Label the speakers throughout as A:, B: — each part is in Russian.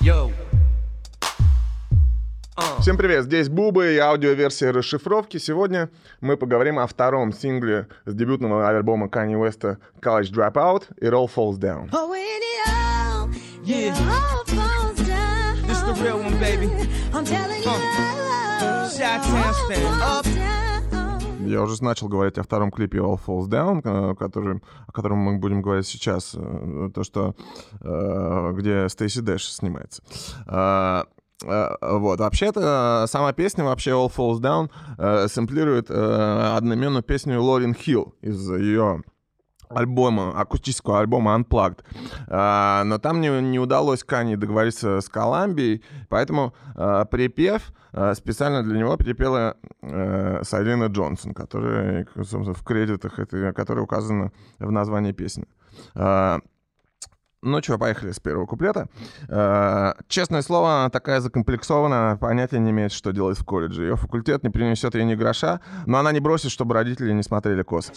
A: Всем привет, здесь Буба и аудиоверсия расшифровки. Сегодня мы поговорим о втором сингле с дебютного альбома Kanye West College Dropout It All Falls Down.
B: This the real one, baby. Chi-Town stand up.
A: Я уже начал говорить о втором клипе All Falls Down, о котором мы будем говорить сейчас, где Стейси Дэш снимается. Вот, вообще-то, сама песня, вообще All Falls Down, сэмплирует одноименную песню Лорен Хилл из ее акустического альбома Unplugged. Но там не удалось Kanye договориться с Колумбией, поэтому припев специально для него перепела Сайлина Джонсон, которая, собственно, в кредитах, которая указана в названии песни. Ну что, поехали с первого куплета. Честное слово, она такая закомплексованная, понятия не имеет, что делать в колледже. Ее факультет не принесет ей ни гроша, но она не бросит, чтобы родители не смотрели косо.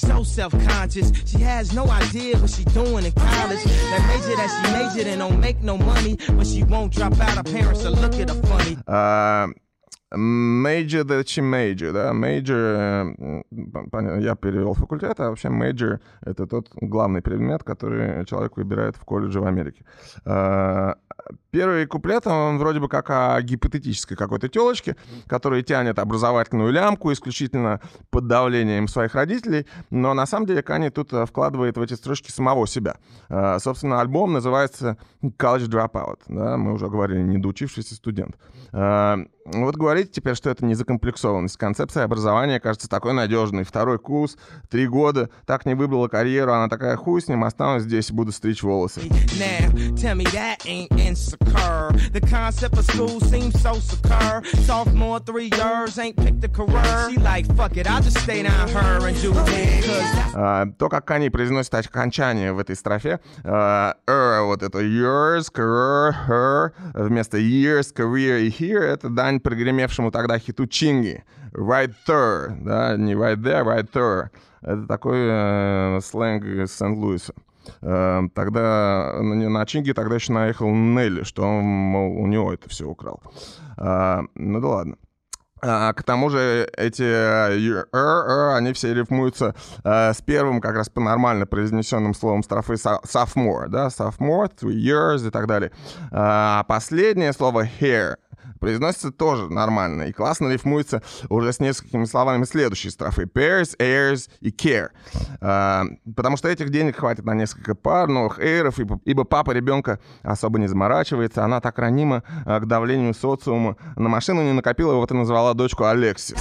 A: Major that she major, да, major, я перевел факультет, а вообще major — это тот главный предмет, который человек выбирает в колледже в Америке. Первый куплет, он вроде бы как о гипотетической какой-то телочке, которая тянет образовательную лямку исключительно под давлением своих родителей, но на самом деле Kanye тут вкладывает в эти строчки самого себя. Собственно, альбом называется College Dropout, да, мы уже говорили, недоучившийся студент. Вот говорите теперь, что это не закомплексованность. Концепция образования кажется такой надежной. Второй курс, 3 года, так не выбрала карьеру, она такая: хуй с ним, останусь здесь и буду стричь волосы. То, как Kanye произносит окончание в этой строфе, вот это yours, career, her, вместо years, career и here, это дань прогремевшему тогда хиту Чинги. Right there, да, не right there, right there. Это такой сленг из Сент-Луиса. Тогда на Чинги тогда еще наехал Нелли, что он, мол, у него это все украл. Ну да ладно. К тому же эти они все рифмуются с первым, как раз по-нормально произнесенным словом строфы sophomore, да, sophomore, 3 years и так далее. А последнее слово hair произносится тоже нормально и классно рифмуется уже с несколькими словами следующей строфы: pairs, airs и care. Потому что этих денег хватит на несколько пар новых эйров, ибо папа ребенка особо не заморачивается, она так ранима к давлению социума. На машину не накопила, вот и назвала дочку Алексис.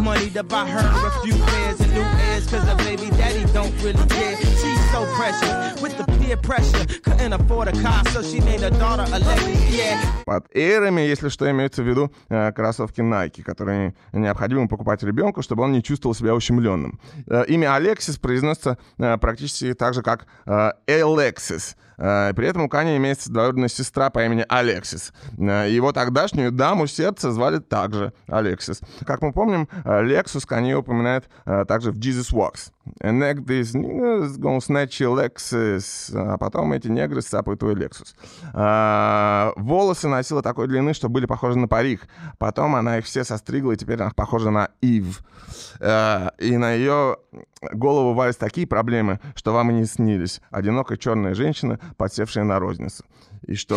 A: Под эйрами, если что, имеется в виду кроссовки Nike, которые необходимо покупать ребенку, чтобы он не чувствовал себя ущемленным. Имя Алексис произносится практически так же, как Alexis. При этом у Kanye имеется двоюродная сестра по имени Алексис. Его тогдашнюю даму сердца звали также Алексис. Как мы помним, Lexus Kanye упоминает также в Jesus Walks. And these niggas gonna snatch your Lexus. А потом эти негры сцапают твой Lexus. Волосы носила такой длины, что были похожи на парик. Потом она их все состригла, и теперь она похожа на Ив. И на ее голову валят такие проблемы, что вам и не снились. Одинокая черная женщина, подсевшая на розницу. И что?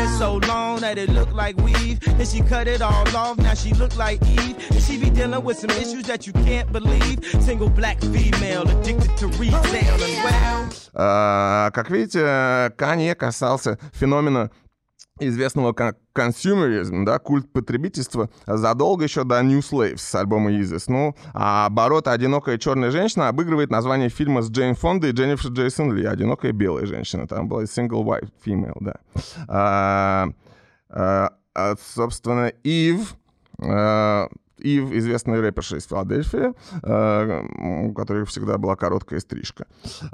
A: Как видите, Kanye касался феномена, известного как консюмеризм, да, культ потребительства, задолго еще до New Slaves с альбома Yeezus. Ну, а оборот «Одинокая черная женщина» обыгрывает название фильма с Джейн Фондой и Дженнифер Джейсон Ли «Одинокая белая женщина». Там была single white female, да. Собственно, Ив, известный рэперша из Филадельфии, у которой всегда была короткая стрижка.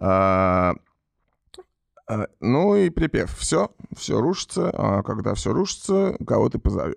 A: Ну и припев. Все рушится, а когда все рушится, кого ты позовешь?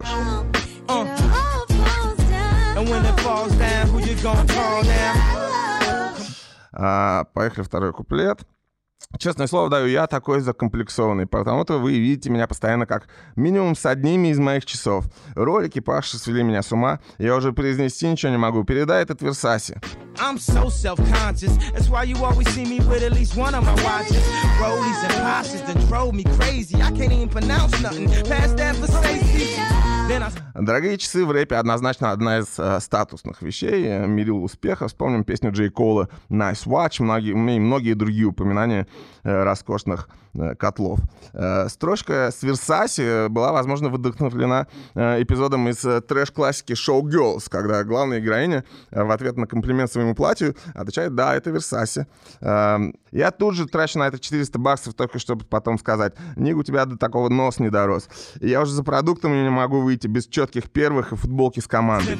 A: Поехали второй куплет. Честное слово даю, я такой закомплексованный, потому-то вы видите меня постоянно как минимум с одними из моих часов. Ролики Паши свели меня с ума, я уже произнести ничего не могу. Передай этот Versace.
B: I'm so self-conscious. That's why you always see me with at least one of my watches. Rollies and Porsches that drove me crazy. I can't even pronounce nothing past that Versace.
A: Дорогие часы в рэпе однозначно одна из статусных вещей, мерил успеха. Вспомним песню Джей Кола «Nice Watch», многие другие упоминания роскошных котлов. Строчка с Versace была, возможно, вдохновлена эпизодом из трэш-классики «Show Girls», когда главная героиня в ответ на комплимент своему платью отвечает: «Да, это Versace». Я тут же трачу на это $400 только чтобы потом сказать: «Ник, у тебя до такого нос не дорос». И я уже за продуктом не могу выйти без четких первых и футболки с командой.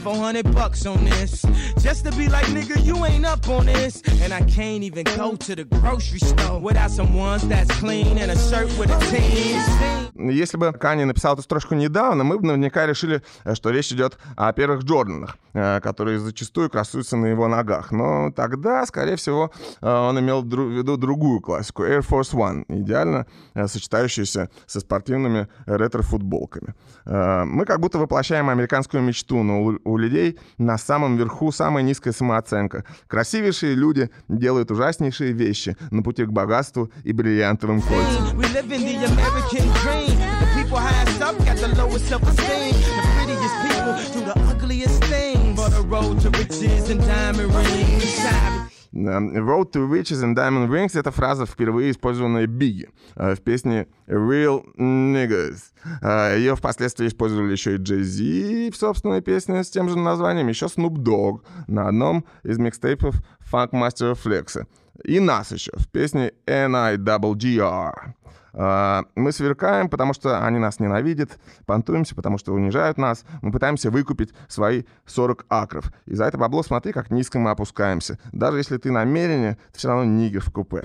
A: Если бы Канье написал эту строчку недавно, мы бы наверняка решили, что речь идет о первых Джорданах, которые зачастую красуются на его ногах. Но тогда, скорее всего, он имел в виду другую классику — Air Force One, идеально сочетающуюся со спортивными ретро-футболками. Мы как будто воплощаем американскую мечту, но у людей на самом верху самая низкая самооценка. Красивейшие люди делают ужаснейшие вещи на пути к богатству и бриллиантовым кольцам. Road to Riches and Diamond Rings — это фраза, впервые использованная Бигги в песне Real Niggas. Ее впоследствии использовали еще и Jay-Z в собственной песне с тем же названием, еще Snoop Dogg на одном из микстейпов Funk Master Flex. И нас еще в песне NIGGR. Мы сверкаем, потому что они нас ненавидят, понтуемся, потому что унижают нас. Мы пытаемся выкупить свои 40 акров. И за это бабло смотри, как низко мы опускаемся. Даже если ты намеренно, ты все равно нигер в купе.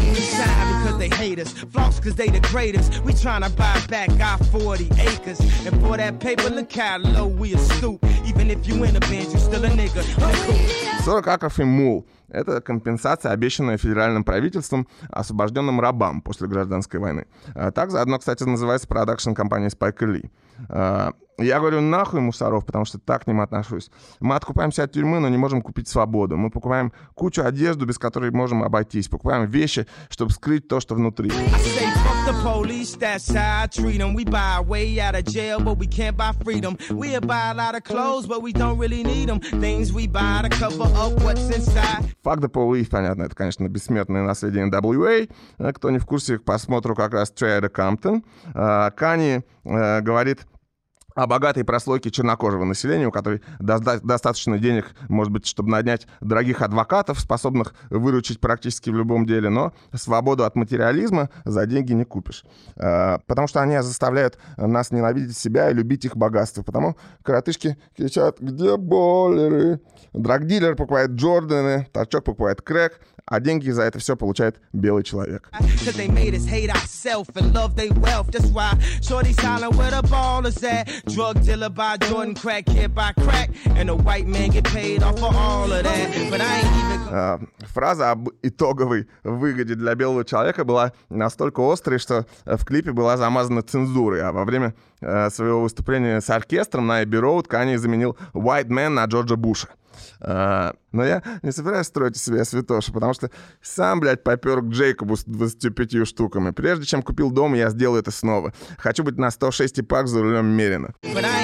A: «40 акров и мул» — это компенсация, обещанная федеральным правительством освобожденным рабам после гражданской войны. Так заодно, кстати, называется продакшн-компания Спайка Ли. Я говорю нахуй мусоров, потому что так к ним отношусь. Мы откупаемся от тюрьмы, но не можем купить свободу. Мы покупаем кучу одежды, без которой можем обойтись. Покупаем вещи, чтобы скрыть то, что внутри. Fuck the police, понятно, это, конечно, бессмертное наследие NWA. Кто не в курсе, к просмотру как раз Straight Outta Compton. Канье говорит о богатой прослойке чернокожего населения, у которой достаточно денег, может быть, чтобы нанять дорогих адвокатов, способных выручить практически в любом деле, но свободу от материализма за деньги не купишь. Потому что они заставляют нас ненавидеть себя и любить их богатство. Потому коротышки кричат: «Где боллеры?» Драгдилер покупает Джорданы, торчок покупает крэк, а деньги за это все получает белый человек. Фраза об итоговой выгоде для белого человека была настолько острой, что в клипе была замазана цензурой, а во время своего выступления с оркестром на Эбби Роуд Канье заменил «White Man» на Джорджа Буша. Но я не собираюсь строить из себя святошу, потому что сам, блядь, попер к Джейкобу с 25 штуками. Прежде чем купил дом, я сделаю это снова. Хочу быть на 106 пак за рулем Мерина.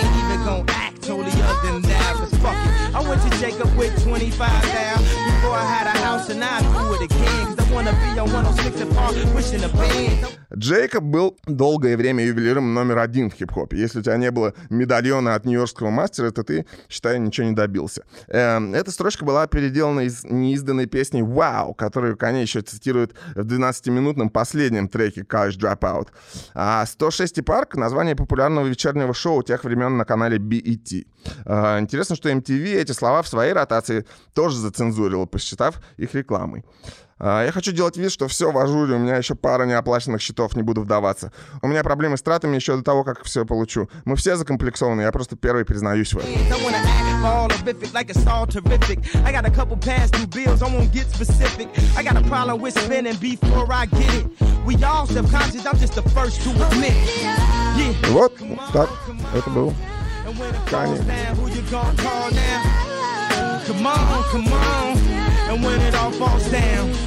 A: Джейкоб был долгое время ювелиром номер один в хип-хопе. Если у тебя не было медальона от нью-йоркского мастера, то ты, считай, ничего не добился. Эта строчка была переделана из неизданной песни «Wow», которую Канье еще цитирует в 12-минутном последнем треке «College Dropout». А 106 Park — название популярного вечернего шоу тех времен на канале BET. Интересно, что MTV эти слова в своей ротации тоже зацензурила, посчитав их рекламой. Я хочу делать вид, что все в ажуре, у меня еще пара неоплаченных счетов, не буду вдаваться. У меня проблемы с тратами еще до того, как все получу. Мы все закомплексованы, я просто первый признаюсь в этом. Вот так это был Kanye.
B: Come on, and when it all falls down